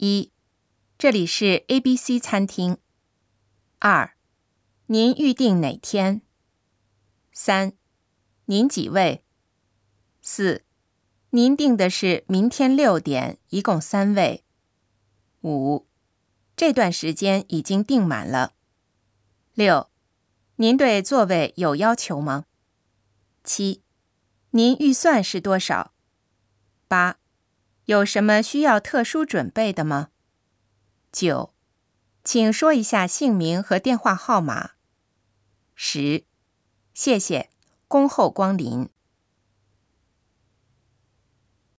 1. 这里是 ABC 餐厅。2. 您预定哪天？ 3. 您几位？ 4. 您订的是明天6点，一共3位。5. 这段时间已经订满了。6. 您对座位有要求吗？ 7. 您预算是多少？ 8. 有什么需要特殊准备的吗？ 9. 请说一下姓名和电话号码。10. 谢谢，恭候光临。